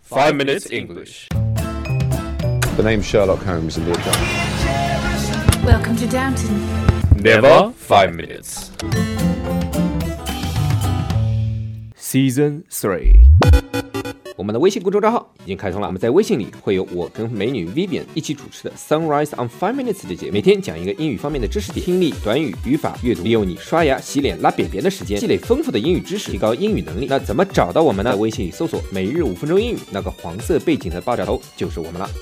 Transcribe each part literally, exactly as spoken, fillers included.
Five Minutes English. The name's Sherlock Holmes in the account. Welcome to Downton. Never five minutes. Season three。 我们的微信公众账号已经开通了，我们在微信里会有我跟美女 Vivian 一起主持的 Sunrise on Five Minutes 的节目，每天讲一个英语方面的知识点，听力、短语、语法、阅读，利用你刷牙、洗脸、拉便便的时间，积累丰富的英语知识，提高英语能力。那怎么找到我们呢？在微信里搜索每日五分钟英语，那个黄色背景的爆炸头就是我们了。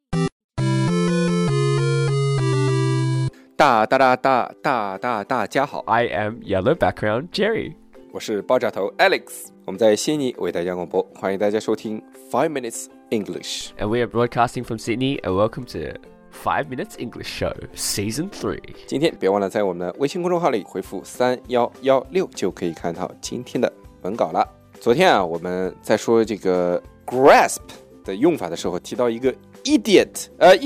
大大大大大大大家好 I am Yellow Background Jerry. 我是爆炸头 Alex， 我们在悉尼为大家广播，欢迎大家收听 Five Minutes English。 And we are broadcasting from Sydney, and welcome to Five Minutes English Show, Season three. 今天别忘了在我们的微信公众号里回复三一一六，就可以看到今天的文稿了。昨天啊，我们在说这个 grasp 的用法的时候，提到一个 idiot， 呃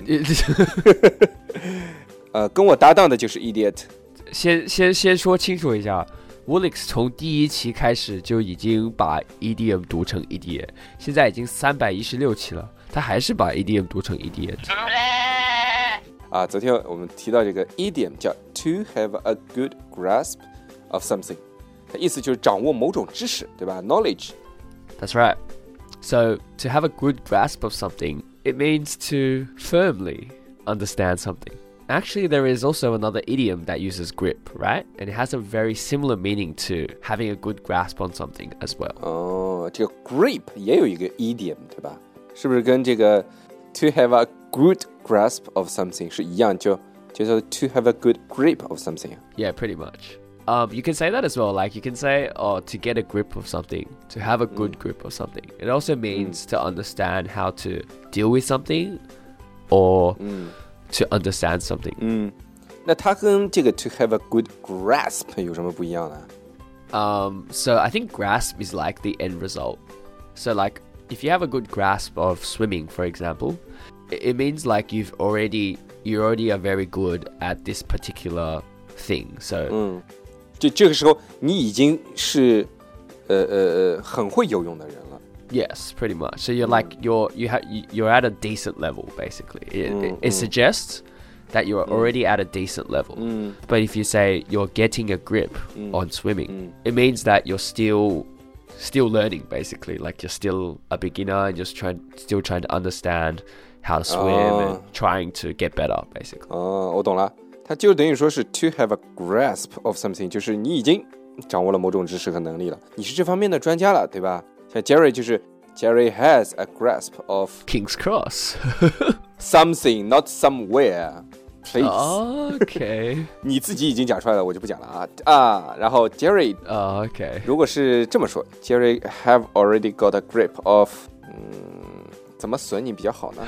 idiot， 呃，跟我搭档的就是 idiot。 先先先说清楚一下。Woolix 从第一期开始就已经把 idiom 读成 idiot， 现在已经三百一十六期了，他还是把 idiom 读成 idiot。 啊，昨天我们提到这个 idiom 叫 to have a good grasp of something， 它意思就是掌握某种知识，对吧 ？Knowledge。 That's right. So to have a good grasp of something, it means to firmly understand something.Actually, there is also another idiom that uses grip, right? And it has a very similar meaning to having a good grasp on something as well. 哦，这个 grip 也有一个 idiom， 对吧？是不是跟这个 to have a good grasp of something 是一样？就就叫 to have a good grip of something。 Yeah, pretty much. Um, you can say that as well. Like you can say, oh, to get a grip of something, to have a good mm. grip of something. It also means mm. to understand how to deal with something or... Mm.To understand something. 嗯，那它跟这个 to have a good grasp 有什么不一样呢？ Um, so I think grasp is like the end result. So like if you have a good grasp of swimming, for example, it means like you've already you already are very good at this particular thing. So 嗯，就这个时候你已经是呃呃呃很会游泳的人了。 Yes, pretty much. So you're like you're you have you're at a decent level basically. It, mm, it, it mm. suggests that you're mm. already at a decent level. Mm. But if you say you're getting a grip mm. on swimming, mm. it means that you're still still learning basically. Like you're still a beginner and just trying still trying to understand how to swim oh. and trying to get better basically. 哦，我懂了。它就等于说是 to have a grasp of something， 就是你已经掌握了某种知识和能力了，你是这方面的专家了，对吧？像 Jerry 就是 Jerry has a grasp of King's Cross something, not somewhere. Please. Okay. 你自己已经讲出来了，我就不讲了啊啊。然后 Jerry, oh, okay. 如果是这么说 ，Jerry have already got a grip of， 嗯，怎么损你比较好呢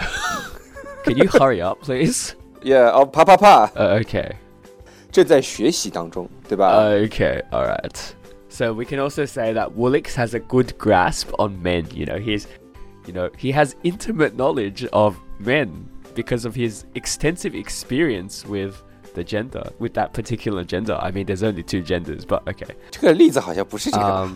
？Can you hurry up, please? Yeah, of 啪啪啪。 Uh, okay. 正在学习当中，对吧 ？Okay, all right.So we can also say that Woolix has a good grasp on men. You know, he's, you know, he has intimate knowledge of men because of his extensive experience with the gender, with that particular gender. I mean, there's only two genders, but okay. 这个例子好像不是这个吧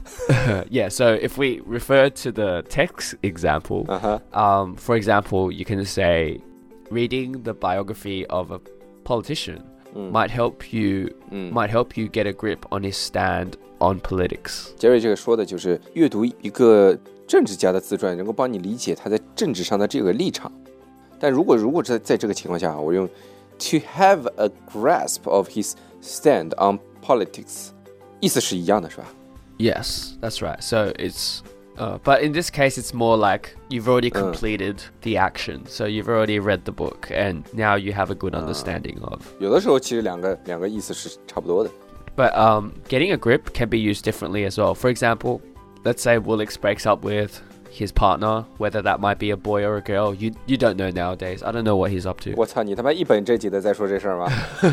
um, yeah, so if we refer to the text example, uh-huh. um, for example, you can say, reading the biography of a politician.Mm. Might help you, mm. might help you get a grip on his stand on politics. Jerry 这个说的就是阅读一个政治家的自传，能够帮你理解他在政治上的这个立场。但如果如果在在这个情况下，我用 to have a grasp of his stand on politics， 意思是一样的，是吧？ Yes, that's right. So it's.Uh, but in this case, it's more like you've already completed uh. the action. So you've already read the book and now you have a good understanding uh. of. 有的时候其实两个两个意思是差不多的。 But um, getting a grip can be used differently as well. For example, let's say Woolix breaks up with his partner, whether that might be a boy or a girl. You you don't know nowadays. I don't know what he's up to. 我操，你他妈一本正经的在说这事儿吗？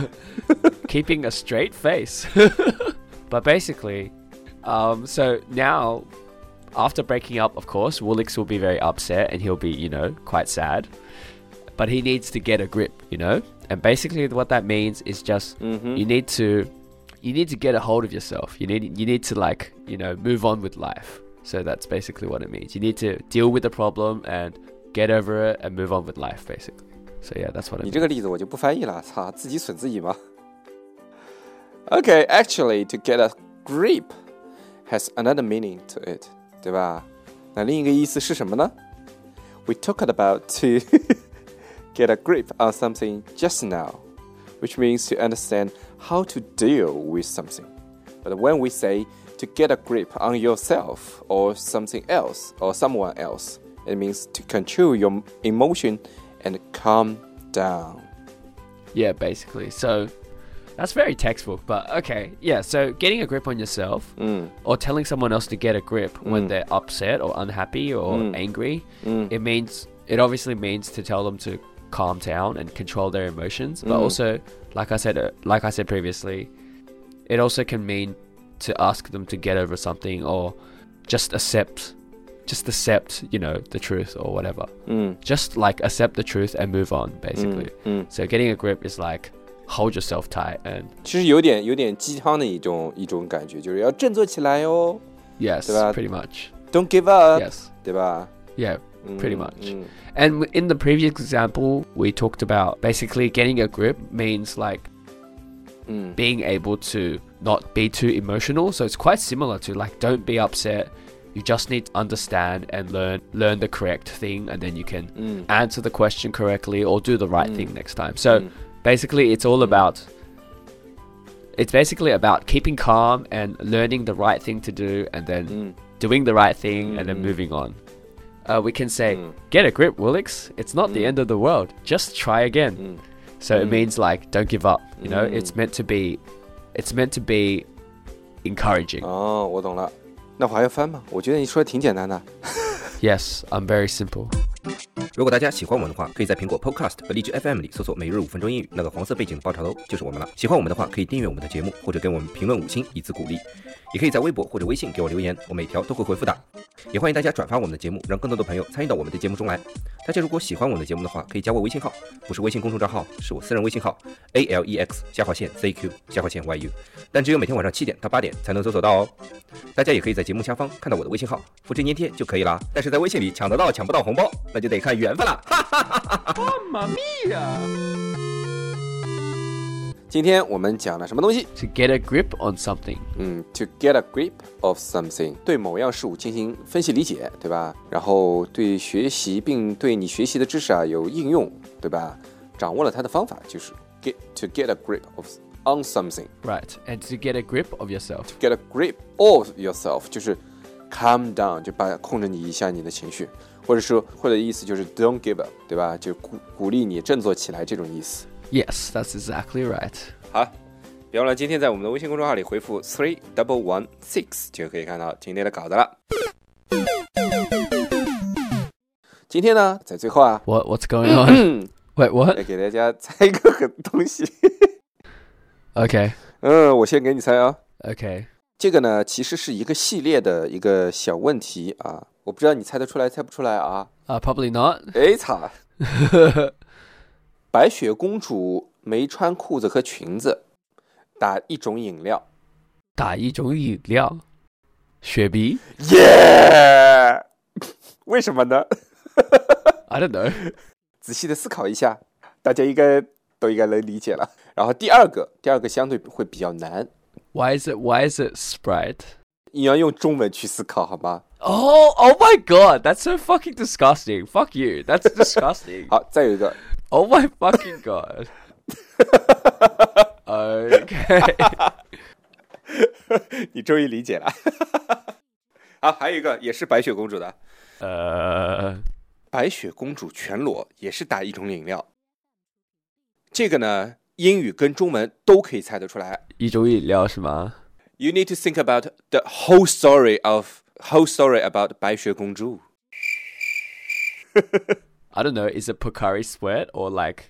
Keeping a straight face. But basically, um, so now...After breaking up, of course, Woolix will be very upset and he'll be, you know, quite sad. But he needs to get a grip, you know? And basically what that means is just mm-hmm. you need to you need to get a hold of yourself. You need you need to like, you know, move on with life. So that's basically what it means. You need to deal with the problem and get over it and move on with life, basically. So yeah, that's what it means. 你这个例子我就不翻译了，操，自己损自己吗？ Okay, actually, to get a grip has another meaning to it, 对吧？那另一个意思是什么呢？ We talked about to get a grip on something just now, which means to understand how to deal with something. But when we say to get a grip on yourself or something else or someone else, it means to control your emotion and calm down. Yeah, basically. So that's very textbook, but okay. Yeah, so getting a grip on yourself mm. or telling someone else to get a grip mm. when they're upset or unhappy or mm. angry, mm. it means it obviously means to tell them to calm down and control their emotions, but mm. also like I said uh, like I said previously, it also can mean to ask them to get over something or just accept just accept, you know, the truth or whatever. Mm. Just like accept the truth and move on, basically. Mm. Mm. So getting a grip is like hold yourself tight and 其实有点有点鸡汤的一种一种感觉，就是要振作起来哦。 Yes, 对吧？ pretty much. Don't give up. Yes. 对吧？ Yeah, pretty much. Mm. And in the previous example, we talked about basically getting a grip means like mm. being able to not be too emotional. So it's quite similar to like don't be upset. You just need to understand and learn learn the correct thing, and then you can mm. answer the question correctly or do the right mm. thing next time. So mm. basically it's all about it's basically about keeping calm and learning the right thing to do, and then mm. doing the right thing, mm. and then moving on. Uh, we can say, mm. get a grip, Willix. It's not mm. the end of the world. Just try again. mm. So mm. it means like don't give up. You know, mm. it's meant to be, it's meant to be encouraging. 哦，我懂了。那我还要翻吗？我觉得你说的挺简单的。 Yes, I'm very simple. 如果大家喜欢我们的话，可以在苹果 Podcast 和荔枝 F M 里搜索每日五分钟英语，那个黄色背景的爆炒头就是我们了。喜欢我们的话，可以订阅我们的节目，或者给我们评论五星以资鼓励。也可以在微博或者微信给我留言，我每条都会回复的。也欢迎大家转发我们的节目，让更多的朋友参与到我们的节目中来。大家如果喜欢我们的节目的话，可以加我微信号，不是微信公众账号，是我私人微信号 A L E X 下划线 Z Q 下划线 Y U， 但只有每天晚上七点到八点才能搜索到哦。大家也可以在节目下方看到我的微信号，复制粘贴就可以啦。但是在微信里抢得到抢不到红包，那就得看缘分了。哈哈哈哈哈！ 妈咪呀！ 今天我们讲了什么东西 To get a grip on something. 嗯 To get a grip of something， 对某样事物进行分析理解，对吧？然后对学习并对你学习的知识啊有应用，对吧？掌握了它的方法，就是 get to get a grip of on something. Right. And to get a grip of yourself. To get a grip of yourself， 就是 calm down， 就把控制你一下你的情绪，或者说或者意思就是 don't give up， 对吧？就鼓鼓励你振作起来这种意思。 Yes, that's exactly right. 好，别忘了今天在我们的微信公众号里回复 three double one six 就可以看到今天的稿子了。今天呢，在最后啊 What what's going on? Wait, what? 来给大家猜一个东西。 Okay. 嗯，我先给你猜啊。 Okay. 这个呢，其实是一个系列的一个小问题啊，我不知道你猜得出来猜不出来啊。 Uh, probably not. 哎操！白雪公主没穿裤子和裙子，打一种饮料。 打一种饮料，雪碧。 耶！为什么呢 I don't know. 仔细的思考一下，大家应该都应该能理解了。然后第二个，第二个相对会比较难。 Why is it? Why is it Sprite? 你要用中文去思考，好吗？ Oh, oh my God! That's so fucking disgusting. Fuck you. That's disgusting. 好，再有一个。 Oh my fucking God. Okay. 你终于理解了。好，还有一个也是白雪公主的。 呃、uh... 白雪公主全裸也是打一种饮料。这个呢，英语跟中文都可以猜得出来。 一种饮料是吗？ You need to think about the whole story of whole story about 白雪公主。 I don't know. Is it Pocari Sweat or like?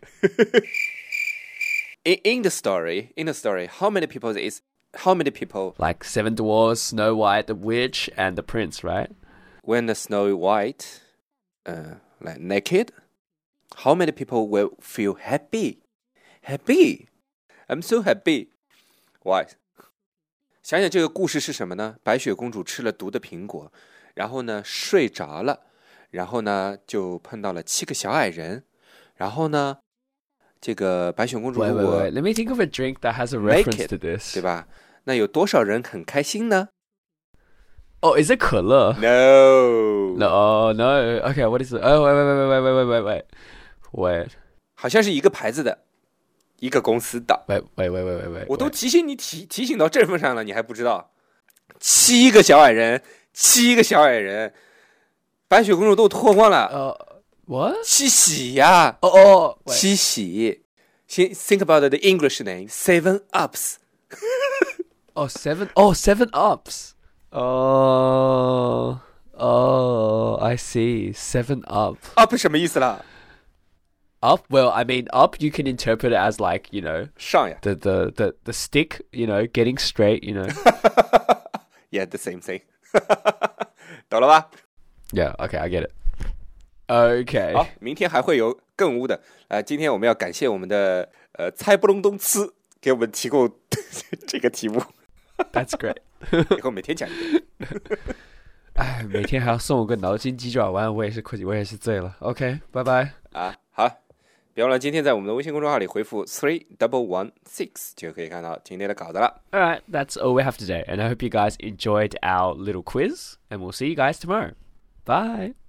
in in the story, in the story, how many people is how many people? Like seven dwarves, Snow White, the witch, and the prince, right? When the Snow White, uh, like naked, how many people will feel happy? Happy, I'm so happy. Why? 想想这个故事是什么呢？白雪公主吃了毒的苹果， 然后呢睡着了，然后呢就碰到了七个小矮人，然后呢这个白雪公主 Wait, 如 wait, 果 wait. Let me think of a drink that has a make reference it, to this. 对吧？那有多少人很开心呢？ Oh, is it 可乐 No No, no. Okay, what is it? Oh, wait, wait, wait, wait, wait, wait, wait, wait. Wait, 好像是一个牌子的，一个公司的。 wait, wait, wait, wait, wait. 我都 wait. 提醒你提提醒到这份上了，你还不知道？七个小矮人，七个小矮人，白雪公主都脱光了。 Uh, what? 七喜呀！ Oh, oh, wait. 七喜。先 think about the English name. Seven Ups. Oh, seven. Oh, seven ups. Oh, oh, I see. Seven up. Up 什么意思啦？ Up. Well, I mean, up. You can interpret it as like, you know, 上呀。 the the the the stick. You know, getting straight. You know. Yeah, the same thing. 懂了吧？ Yeah. Okay, I get it. Okay. 好，明天还会有更污的。呃，今天我们要感谢我们的呃猜不隆咚吃给我们提供这个题目。 That's great. 以后每天讲一个。 哎，每天还要送我个脑筋急转弯，我也是困，我也是醉了。OK，拜拜。 啊，好，别忘了今天在我们的微信公众号里回复 three double one six 就可以看到今天的稿子了。 All right, that's all we have today, and I hope you guys enjoyed our little quiz, and we'll see you guys tomorrow. Bye.